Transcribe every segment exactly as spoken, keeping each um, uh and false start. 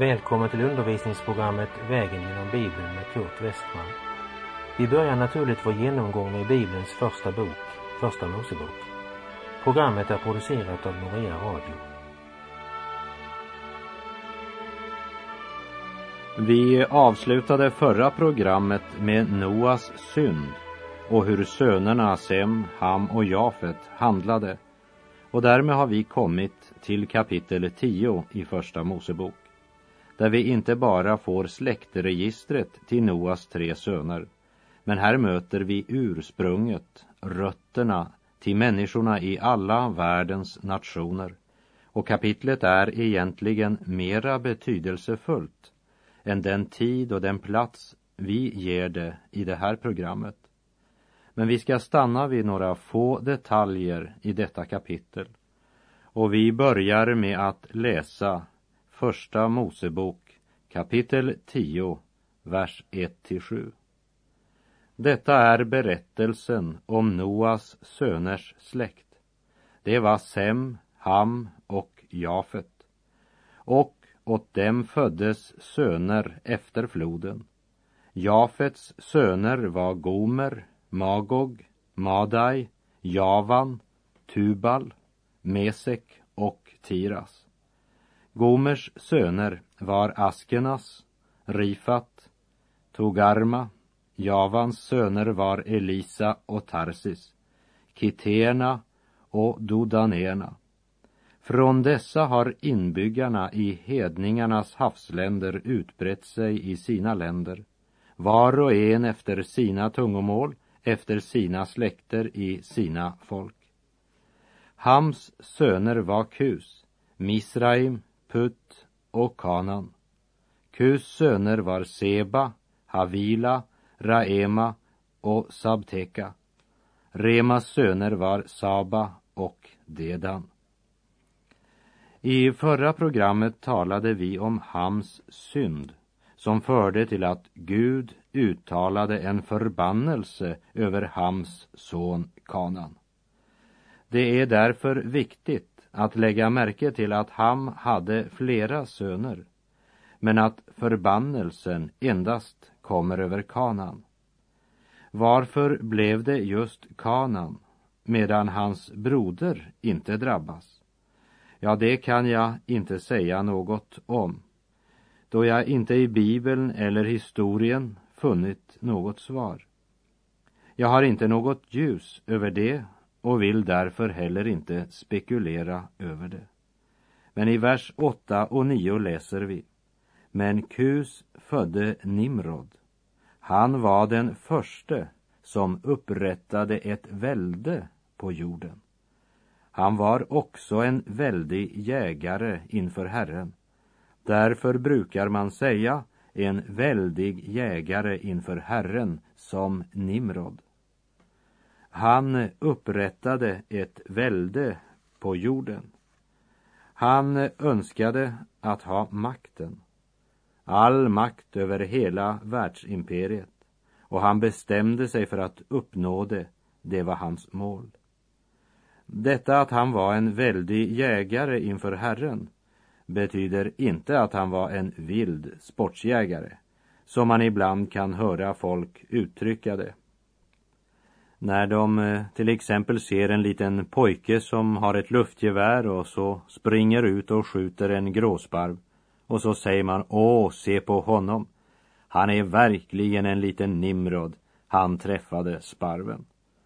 Välkommen till undervisningsprogrammet Vägen genom Bibeln med Kurt Westman. Vi börjar naturligt vår genomgång med Bibelns första bok, Första Mosebok. Programmet är producerat av Norea Radio. Vi avslutade förra programmet med Noas synd och hur sönerna Sem, Ham och Jafet handlade. Och därmed har vi kommit till kapitel tio i Första Mosebok, där vi inte bara får släktregistret till Noas tre söner, men här möter vi ursprunget, rötterna till människorna i alla världens nationer. Och kapitlet är egentligen mera betydelsefullt än den tid och den plats vi ger det i det här programmet. Men vi ska stanna vid några få detaljer i detta kapitel. Och vi börjar med att läsa Första Mosebok kapitel tio, vers ett till sju. Detta är berättelsen om Noas söners släkt. Det var Sem, Ham och Jafet. Och åt dem föddes söner efter floden. Jafets söner var Gomer, Magog, Madai, Javan, Tubal, Mesek och Tiras. Gomers söner var Askenas, Rifat, Togarma. Javans söner var Elisa och Tarsis, Kiterna och Dodanerna. Från dessa har inbyggarna i hedningarnas havsländer utbrett sig i sina länder, var och en efter sina tungomål, efter sina släkter i sina folk. Hams söner var Kus, Misraim, Put och Kanan. Kus söner var Seba, Havila, Raema och Sabteka. Remas söner var Saba och Dedan. I förra programmet talade vi om Hams synd, som förde till att Gud uttalade en förbannelse över Hams son Kanan. Det är därför viktigt att lägga märke till att Ham hade flera söner, men att förbannelsen endast kommer över Kanan. Varför blev det just Kanan, medan hans broder inte drabbas? Ja, det kan jag inte säga något om, då jag inte i Bibeln eller historien funnit något svar. Jag har inte något ljus över det och vill därför heller inte spekulera över det. Men i vers åtta och nio läser vi: Men Kus födde Nimrod. Han var den förste som upprättade ett välde på jorden. Han var också en väldig jägare inför Herren. Därför brukar man säga en väldig jägare inför Herren som Nimrod. Han upprättade ett välde på jorden. Han önskade att ha makten, all makt över hela världsimperiet, och han bestämde sig för att uppnå det. Det var hans mål. Detta att han var en väldig jägare inför Herren betyder inte att han var en vild sportsjägare, som man ibland kan höra folk uttrycka det. När de till exempel ser en liten pojke som har ett luftgevär och så springer ut och skjuter en gråsparv, och så säger man: åh, se på honom. Han är verkligen en liten Nimrod. Han träffade sparven.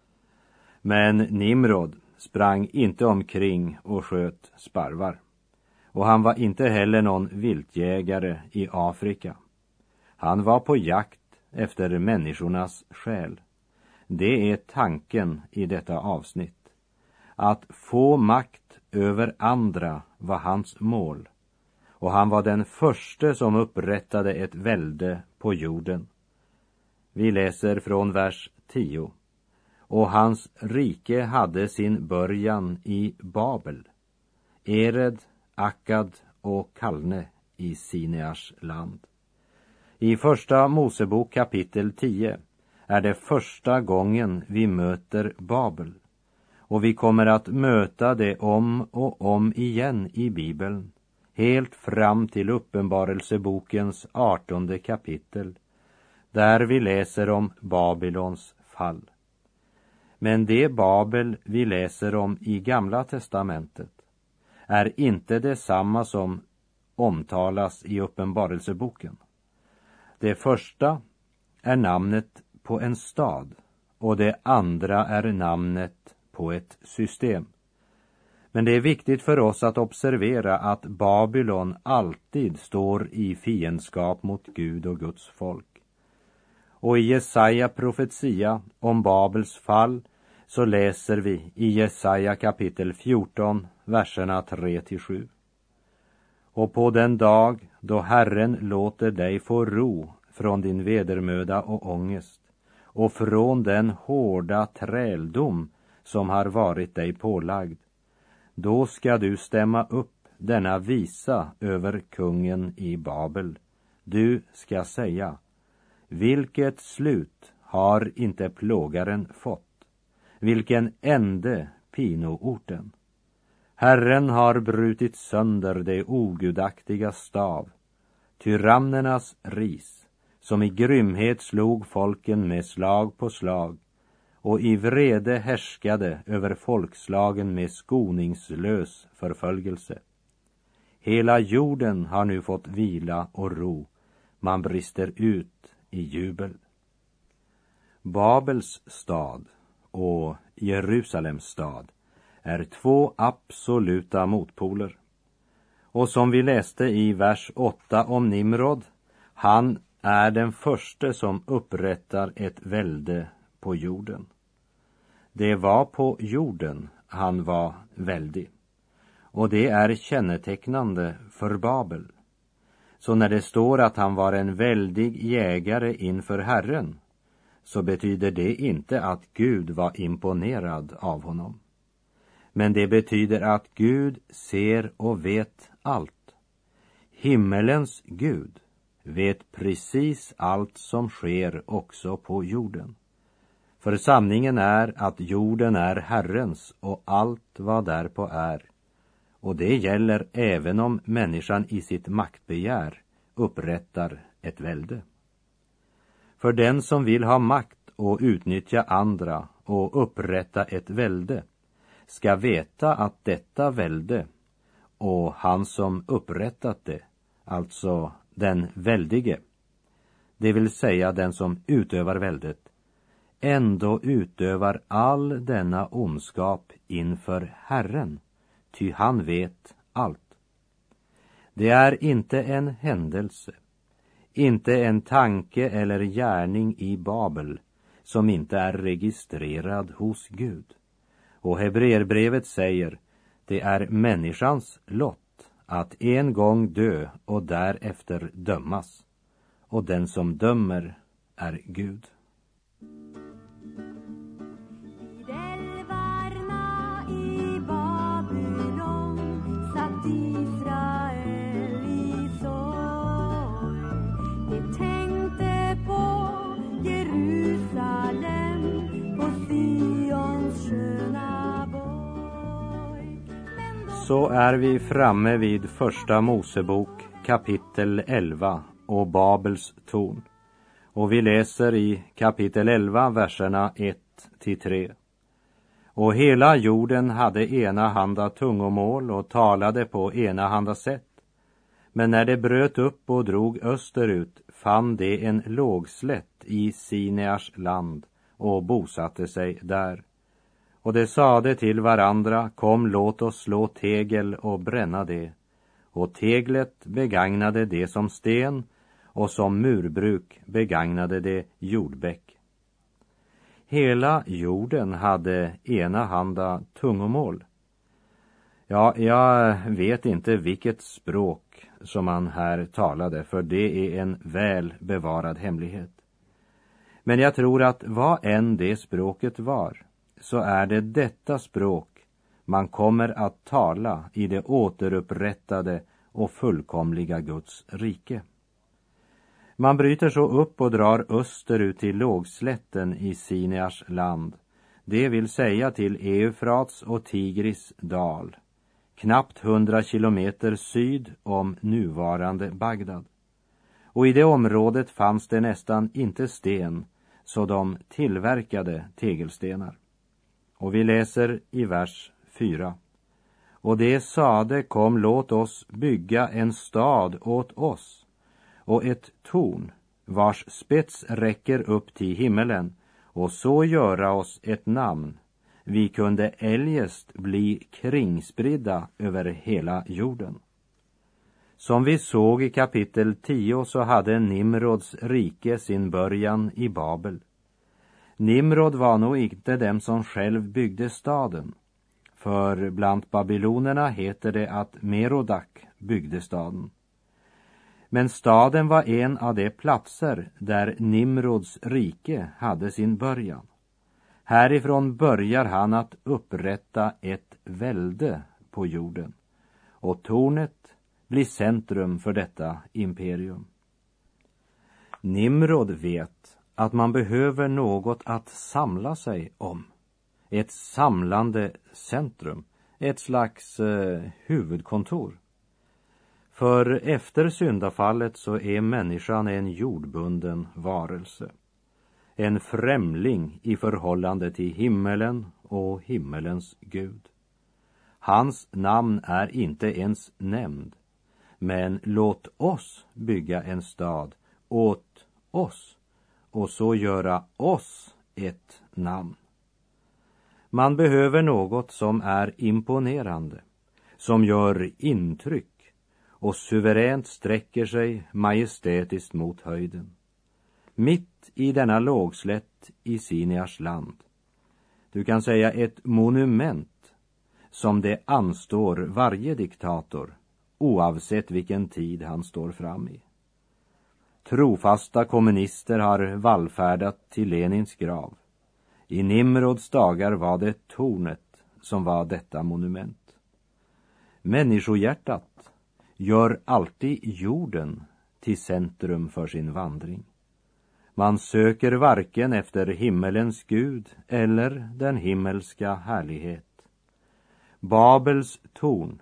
Men Nimrod sprang inte omkring och sköt sparvar. Och han var inte heller någon viltjägare i Afrika. Han var på jakt efter människornas själ. Det är tanken i detta avsnitt. Att få makt över andra var hans mål. Och han var den första som upprättade ett välde på jorden. Vi läser från vers tio. Och hans rike hade sin början i Babel, Ered, Akkad och Kalne i Sinears land. I Första Mosebok kapitel tio är det första gången vi möter Babel. Och vi kommer att möta det om och om igen i Bibeln. helt fram till Uppenbarelsebokens artonde kapitel, där vi läser om Babylons fall. Men det Babel vi läser om i Gamla testamentet är inte detsamma som omtalas i Uppenbarelseboken. Det första är namnet på en stad och det andra är namnet på ett system. Men det är viktigt för oss att observera att Babylon alltid står i fiendskap mot Gud och Guds folk. Och i Jesaja profetia om Babels fall så läser vi i Jesaja kapitel fjorton, verserna tre till sju. Och på den dag då Herren låter dig få ro från din vedermöda och ångest och från den hårda träldom som har varit dig pålagd, då ska du stämma upp denna visa över kungen i Babel. Du ska säga: vilket slut har inte plågaren fått? Vilken ände pinoorten? Herren har brutit sönder det ogudaktiga stav, tyrannernas ris, som i grymhet slog folken med slag på slag och i vrede härskade över folkslagen med skoningslös förföljelse. Hela jorden har nu fått vila och ro, man brister ut i jubel. Babels stad och Jerusalems stad är två absoluta motpoler. Och som vi läste i vers åtta om Nimrod, han är den första som upprättar ett välde på jorden. Det var på jorden han var väldig. Och det är kännetecknande för Babel. Så när det står att han var en väldig jägare inför Herren, så betyder det inte att Gud var imponerad av honom. Men det betyder att Gud ser och vet allt. Himmelens Gud vet precis allt som sker också på jorden. För sanningen är att jorden är Herrens och allt vad därpå är. Och det gäller även om människan i sitt maktbegär upprättar ett välde. För den som vill ha makt och utnyttja andra och upprätta ett välde ska veta att detta välde och han som upprättat det, alltså den väldige, det vill säga den som utövar väldet, ändå utövar all denna ondskap inför Herren, ty han vet allt. Det är inte en händelse, inte en tanke eller gärning i Babel som inte är registrerad hos Gud. Och Hebreerbrevet säger, det är människans lott att en gång dö och därefter dömas. Och den som dömer är Gud. Så är vi framme vid första Mosebok kapitel elva och Babels torn. Och vi läser i kapitel elva verserna ett till tre. Och hela jorden hade enahanda tungomål och talade på enahanda sätt. Men när det bröt upp och drog österut fann det en lågslätt i Sinears land och bosatte sig där. Och de sade till varandra, kom låt oss slå tegel och bränna det. Och teglet begagnade det som sten och som murbruk begagnade det jordbäck. Hela jorden hade enahanda tungomål. Ja, jag vet inte vilket språk som man här talade, för det är en väl bevarad hemlighet. Men jag tror att vad än det språket var, så är det detta språk man kommer att tala i det återupprättade och fullkomliga Guds rike. Man bryter så upp och drar österut till lågslätten i Sinears land, det vill säga till Eufrats och Tigris dal, knappt hundra kilometer syd om nuvarande Bagdad. Och i det området fanns det nästan inte sten, så de tillverkade tegelstenar. Och vi läser i vers fyra. Och det sade, kom, låt oss bygga en stad åt oss, och ett torn, vars spets räcker upp till himmelen, och så göra oss ett namn. Vi kunde eljest bli kringspridda över hela jorden. Som vi såg i kapitel tio så hade Nimrods rike sin början i Babel. Nimrod var nog inte den som själv byggde staden. För bland babylonerna heter det att Merodak byggde staden. Men staden var en av de platser där Nimrods rike hade sin början. Härifrån börjar han att upprätta ett välde på jorden. Och tornet blir centrum för detta imperium. Nimrod vet att man behöver något att samla sig om. Ett samlande centrum, ett slags eh, huvudkontor. För efter syndafallet så är människan en jordbunden varelse. En främling i förhållande till himmelen och himmelens Gud. Hans namn är inte ens nämnd. Men låt oss bygga en stad åt oss och så göra oss ett namn. Man behöver något som är imponerande, som gör intryck och suveränt sträcker sig majestätiskt mot höjden. Mitt i denna lågslätt i Siniars land. Du kan säga ett monument som det anstår varje diktator, oavsett vilken tid han står fram i. Trofasta kommunister har vallfärdat till Lenins grav. I Nimrods dagar var det tornet som var detta monument. Människohjärtat gör alltid jorden till centrum för sin vandring. Man söker varken efter himmelens Gud eller den himmelska härlighet. Babels torn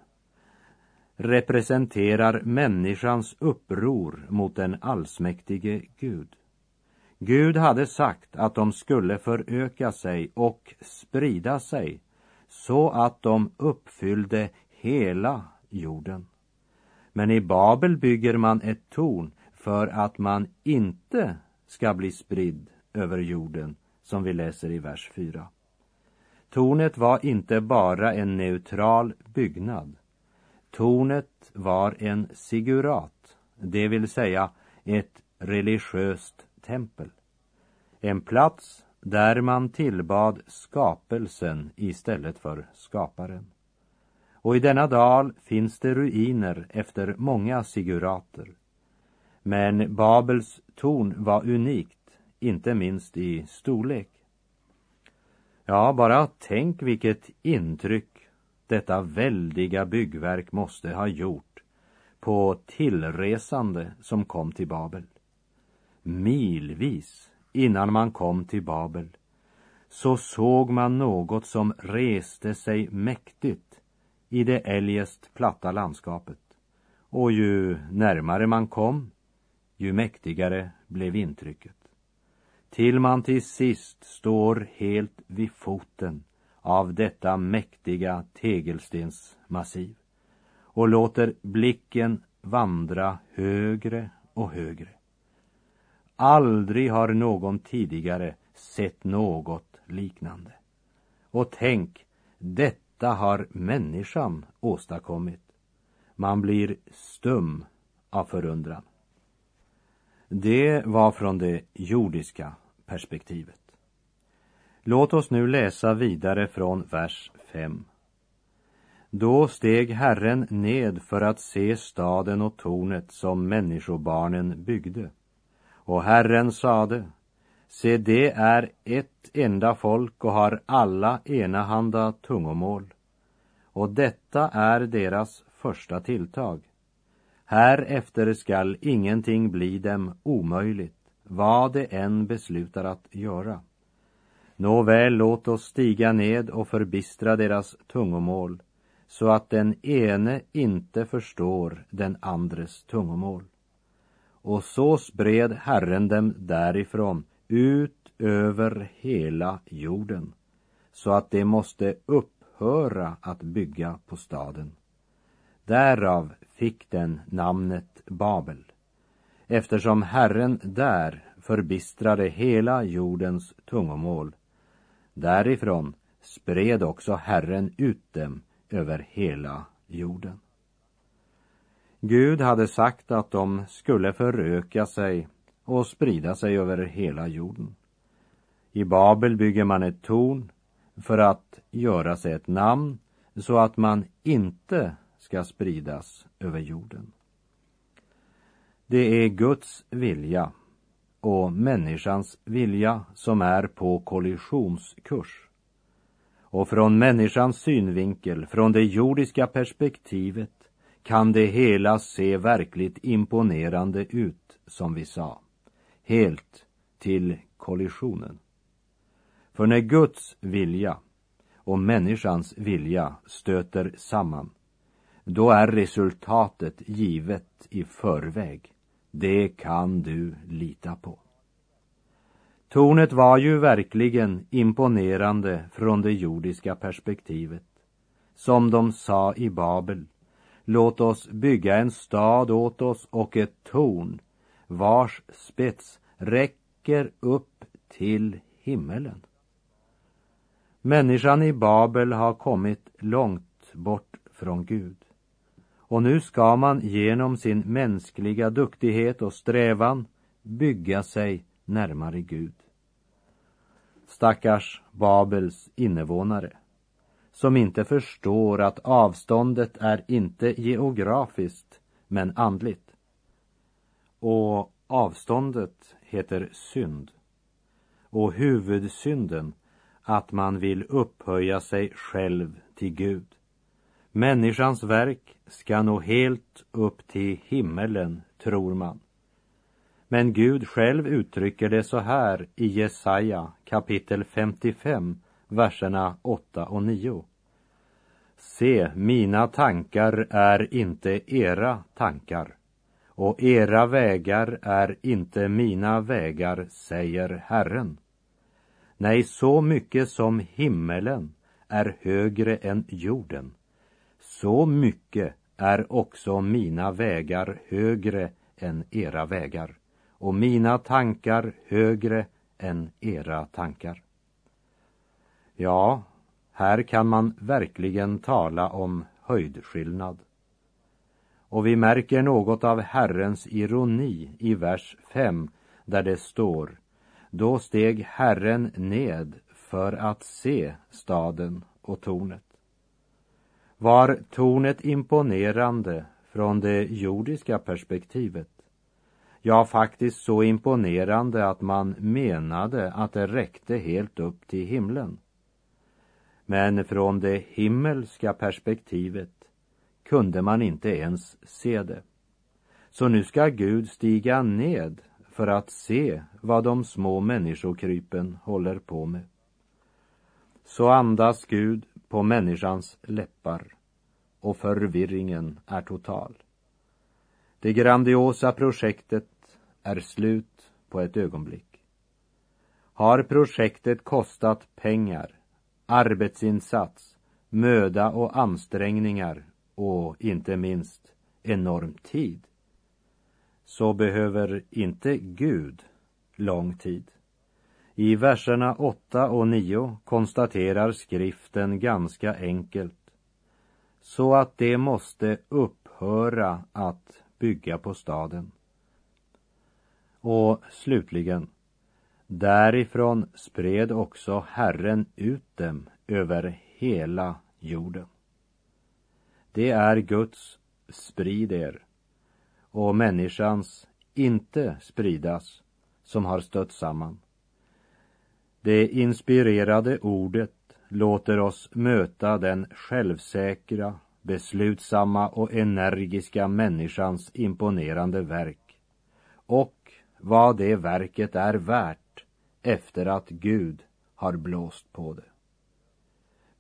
representerar människans uppror mot den allsmäktige Gud. Gud hade sagt att de skulle föröka sig och sprida sig så att de uppfyllde hela jorden. Men i Babel bygger man ett torn för att man inte ska bli spridd över jorden, som vi läser i vers fyra. Tornet var inte bara en neutral byggnad. Tornet var en sigurat, det vill säga ett religiöst tempel. En plats där man tillbad skapelsen istället för skaparen. Och i denna dal finns det ruiner efter många sigurater. Men Babels torn var unikt, inte minst i storlek. Ja, bara tänk vilket intryck detta väldiga byggverk måste ha gjort på tillresande som kom till Babel. Milvis innan man kom till Babel så såg man något som reste sig mäktigt i det eljest platta landskapet. Och ju närmare man kom, ju mäktigare blev intrycket. Till man till sist står helt vid foten av detta mäktiga tegelstensmassiv och låter blicken vandra högre och högre. Aldrig har någon tidigare sett något liknande. Och tänk, detta har människan åstadkommit. Man blir stum av förundran. Det var från det jordiska perspektivet. Låt oss nu läsa vidare från vers fem. Då steg Herren ned för att se staden och tornet som människobarnen byggde. Och Herren sade, se, det är ett enda folk och har alla enahanda tungomål. Och detta är deras första tilltag. Härefter skall ingenting bli dem omöjligt, vad det än beslutar att göra. Nåväl, låt oss stiga ned och förbistra deras tungomål, så att den ene inte förstår den andres tungomål. Och så spred Herren dem därifrån ut över hela jorden, så att de måste upphöra att bygga på staden. Därav fick den namnet Babel, eftersom Herren där förbistrade hela jordens tungomål. Därifrån spred också Herren ut dem över hela jorden. Gud hade sagt att de skulle föröka sig och sprida sig över hela jorden. I Babel bygger man ett torn för att göra sig ett namn, så att man inte ska spridas över jorden. Det är Guds vilja och människans vilja som är på kollisionskurs. Och från människans synvinkel, från det jordiska perspektivet, kan det hela se verkligt imponerande ut, som vi sa, helt till kollisionen. För när Guds vilja och människans vilja stöter samman, då är resultatet givet i förväg. Det kan du lita på. Tornet var ju verkligen imponerande från det jordiska perspektivet. Som de sa i Babel: låt oss bygga en stad åt oss och ett torn, vars spets räcker upp till himmelen. Människan i Babel har kommit långt bort från Gud. Och nu ska man genom sin mänskliga duktighet och strävan bygga sig närmare Gud. Stackars Babels invånare, som inte förstår att avståndet är inte geografiskt men andligt. Och avståndet heter synd. Och huvudsynden, att man vill upphöja sig själv till Gud. Människans verk ska nå helt upp till himmelen, tror man. Men Gud själv uttrycker det så här i Jesaja kapitel femtiofem, verserna åtta och nio. Se, mina tankar är inte era tankar, och era vägar är inte mina vägar, säger Herren. Nej, så mycket som himmelen är högre än jorden, så mycket är också mina vägar högre än era vägar, och mina tankar högre än era tankar. Ja, här kan man verkligen tala om höjdskillnad. Och vi märker något av Herrens ironi i vers fem, där det står: då steg Herren ned för att se staden och tornet. Var tornet imponerande från det jordiska perspektivet? Ja, faktiskt så imponerande att man menade att det räckte helt upp till himlen. Men från det himmelska perspektivet kunde man inte ens se det. Så nu ska Gud stiga ned för att se vad de små människokrypen håller på med. Så andas Gud på människans läppar, och förvirringen är total. Det grandiosa projektet är slut på ett ögonblick. Har projektet kostat pengar, arbetsinsats, möda och ansträngningar och inte minst enorm tid, så behöver inte Gud lång tid. I verserna åtta och nio konstaterar skriften ganska enkelt: så att det måste upphöra att bygga på staden. Och slutligen, därifrån spred också Herren ut dem över hela jorden. Det är Guds sprid er, och människans inte spridas, som har stött samman. Det inspirerade ordet låter oss möta den självsäkra, beslutsamma och energiska människans imponerande verk, och vad det verket är värt efter att Gud har blåst på det.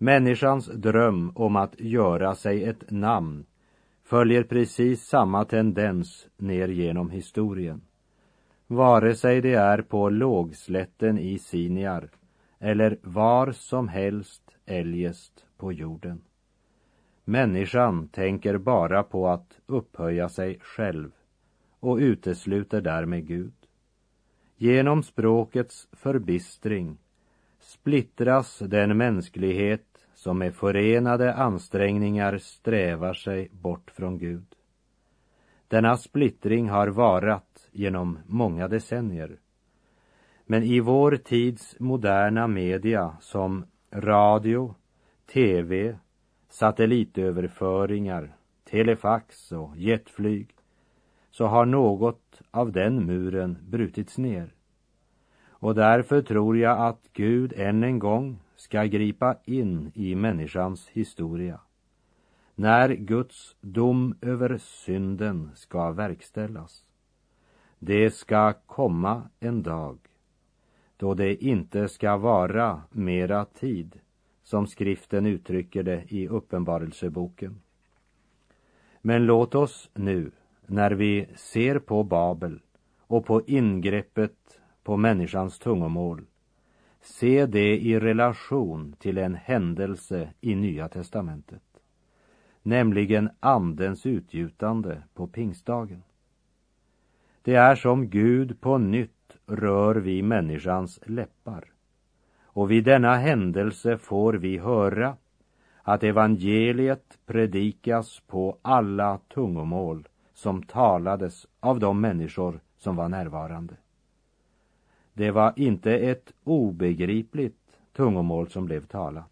Människans dröm om att göra sig ett namn följer precis samma tendens ner genom historien. Vare sig det är på lågslätten i Siniar eller var som helst eljest på jorden. Människan tänker bara på att upphöja sig själv och utesluter därmed Gud. Genom språkets förbistring splittras den mänsklighet som med förenade ansträngningar strävar sig bort från Gud. Denna splittring har varat genom många decennier. Men i vår tids moderna media som radio, tv, satellitöverföringar, telefax och jetflyg så har något av den muren brutits ner. Och därför tror jag att Gud än en gång ska gripa in i människans historia. När Guds dom över synden ska verkställas. Det ska komma en dag då det inte ska vara mera tid, som skriften uttrycker det i Uppenbarelseboken. Men låt oss nu, när vi ser på Babel och på ingreppet på människans tungomål, se det i relation till en händelse i Nya testamentet, nämligen andens utgjutande på pingstdagen. Det är som Gud på nytt rör vid människans läppar, och vid denna händelse får vi höra att evangeliet predikas på alla tungomål som talades av de människor som var närvarande. Det var inte ett obegripligt tungomål som blev talat.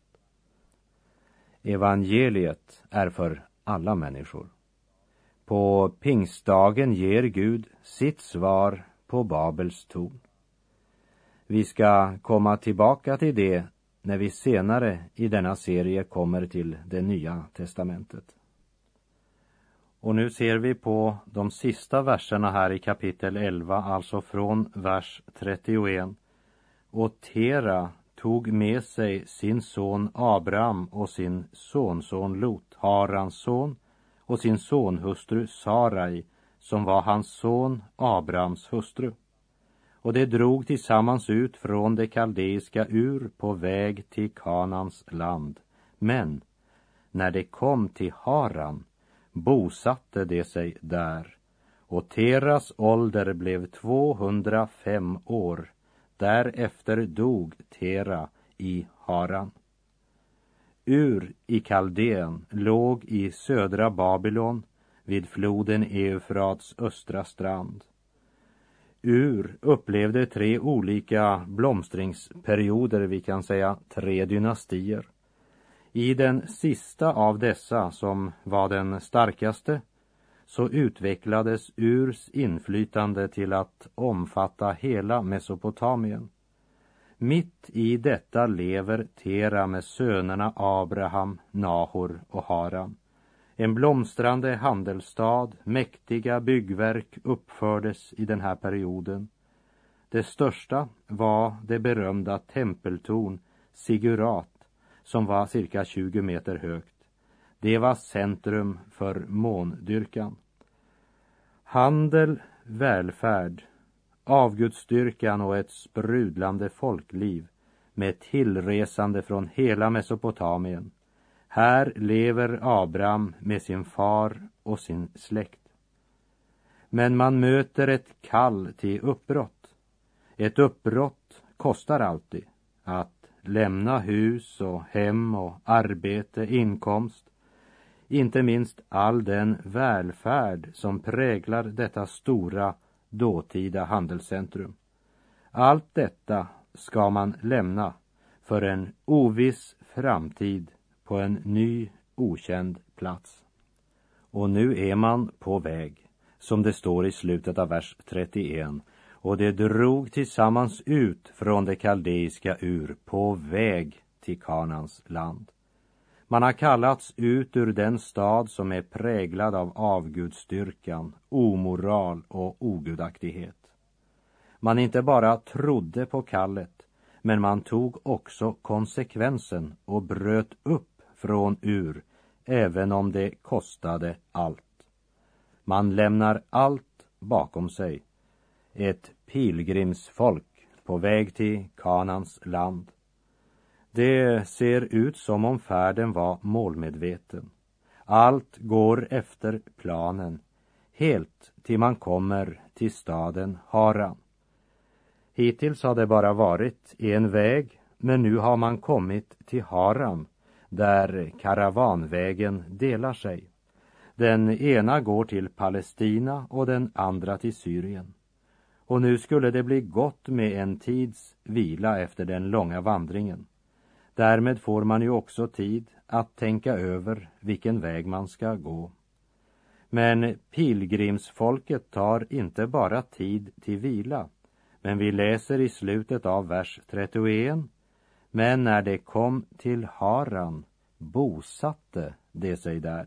Evangeliet är för alla människor. På pingstdagen ger Gud sitt svar på Babels torn. Vi ska komma tillbaka till det när vi senare i denna serie kommer till det Nya testamentet. Och nu ser vi på de sista verserna här i kapitel elva, alltså från vers trettioett. Och Tera tog med sig sin son Abraham och sin sonson Lot, Harans son, och sin sonhustru Sarai, som var hans son Abrahams hustru. Och de drog tillsammans ut från det kaldeiska Ur på väg till Kanans land. Men när de kom till Haran bosatte de sig där, och Teras ålder blev tvåhundrafem år. Därefter dog Tera i Haran. Ur i Kaldeen låg i södra Babylon vid floden Eufrats östra strand. Ur upplevde tre olika blomstringsperioder, vi kan säga tre dynastier. I den sista av dessa, som var den starkaste, så utvecklades Urs inflytande till att omfatta hela Mesopotamien. Mitt i detta lever Tera med sönerna Abraham, Nahor och Haran. En blomstrande handelsstad, mäktiga byggverk uppfördes i den här perioden. Det största var det berömda tempeltorn Sigurat, som var cirka tjugo meter högt. Det var centrum för måndyrkan. Handel, välfärd, avgudsdyrkan och ett sprudlande folkliv med tillresande från hela Mesopotamien. Här lever Abraham med sin far och sin släkt. Men man möter ett kall till uppbrott. Ett uppbrott kostar alltid. Att lämna hus och hem och arbete, inkomst. Inte minst all den välfärd som präglar detta stora dåtida handelscentrum. Allt detta ska man lämna för en oviss framtid på en ny okänd plats. Och nu är man på väg, som det står i slutet av vers trettioett. Och det drog tillsammans ut från det kaldeiska Ur på väg till Kanans land. Man har kallats ut ur den stad som är präglad av avgudsdyrkan, omoral och ogudaktighet. Man inte bara trodde på kallet, men man tog också konsekvensen och bröt upp från Ur, även om det kostade allt. Man lämnar allt bakom sig. Ett pilgrimsfolk på väg till Kanans land. Det ser ut som om färden var målmedveten. Allt går efter planen, helt till man kommer till staden Haran. Hittills har det bara varit en väg, men nu har man kommit till Haran, där karavanvägen delar sig. Den ena går till Palestina och den andra till Syrien. Och nu skulle det bli gott med en tids vila efter den långa vandringen. Därmed får man ju också tid att tänka över vilken väg man ska gå. Men pilgrimsfolket tar inte bara tid till vila, men vi läser i slutet av vers trettioen: men när det kom till Haran bosatte det sig där.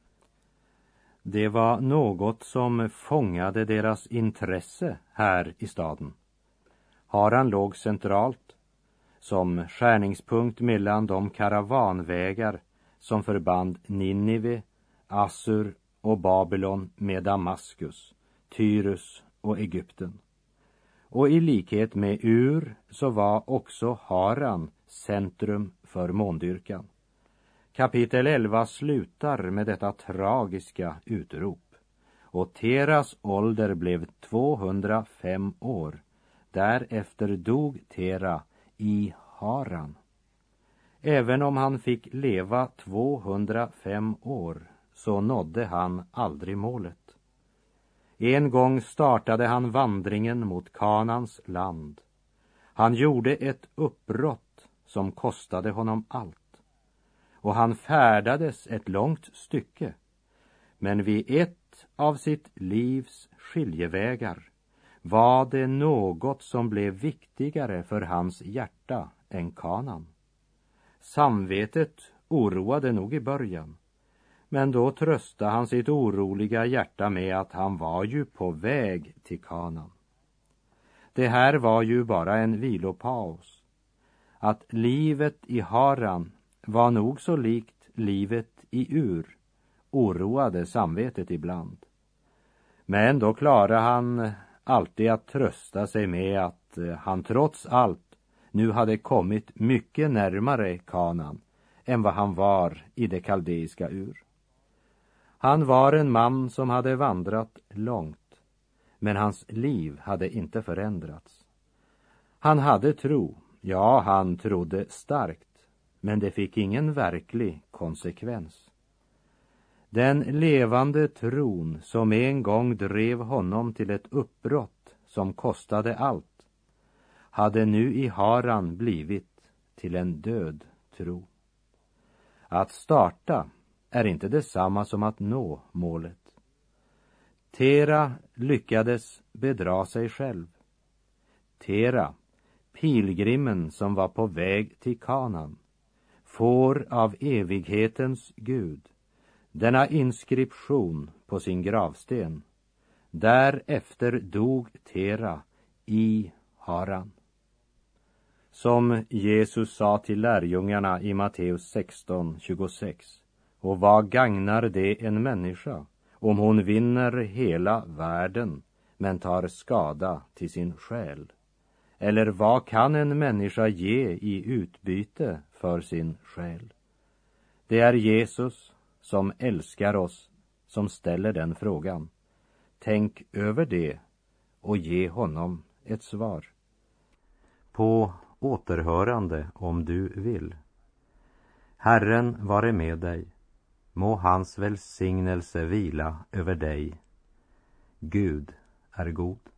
Det var något som fångade deras intresse här i staden. Haran låg centralt, som skärningspunkt mellan de karavanvägar som förband Ninive, Assur och Babylon med Damaskus, Tyrus och Egypten. Och i likhet med Ur så var också Haran centrum för måndyrkan. Kapitel elva slutar med detta tragiska utrop. Och Teras ålder blev tvåhundrafem år. Därefter dog Tera i Haran. Även om han fick leva tvåhundrafem år så nådde han aldrig målet. En gång startade han vandringen mot Kanans land. Han gjorde ett uppbrott som kostade honom allt. Och han färdades ett långt stycke. Men vid ett av sitt livs skiljevägar var det något som blev viktigare för hans hjärta än Kanan. Samvetet oroade nog i början, men då tröstade han sitt oroliga hjärta med att han var ju på väg till Kanan. Det här var ju bara en vilopaus. Att livet i Haran var nog så likt livet i Ur oroade samvetet ibland. Men då klarade han alltid att trösta sig med att han trots allt nu hade kommit mycket närmare Kanan än vad han var i det kaldeiska Ur. Han var en man som hade vandrat långt, men hans liv hade inte förändrats. Han hade tro, ja han trodde starkt, men det fick ingen verklig konsekvens. Den levande tron som en gång drev honom till ett uppbrott som kostade allt, hade nu i Haran blivit till en död tro. Att starta är inte detsamma som att nå målet. Tera lyckades bedra sig själv. Tera, pilgrimen som var på väg till Kanan, får av evighetens Gud denna inskription på sin gravsten: därefter dog Tera i Haran. Som Jesus sa till lärjungarna i Matteus sexton tjugosex: och vad gagnar det en människa om hon vinner hela världen men tar skada till sin själ? Eller vad kan en människa ge i utbyte för sin själ? Det är Jesus som älskar oss som ställer den frågan. Tänk över det och ge honom ett svar. På återhörande om du vill. Herren vare med dig. Må hans välsignelse vila över dig. Gud är god.